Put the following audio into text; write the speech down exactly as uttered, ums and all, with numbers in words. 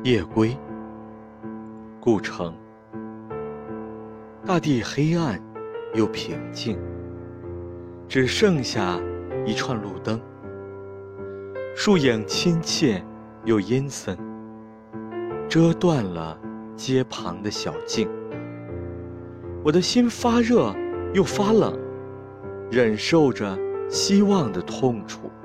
夜归，故城。大地黑暗又平静，只剩下一串路灯。树影亲切又阴森，遮断了街旁的小径。我的心发热又发冷，忍受着希望的痛楚。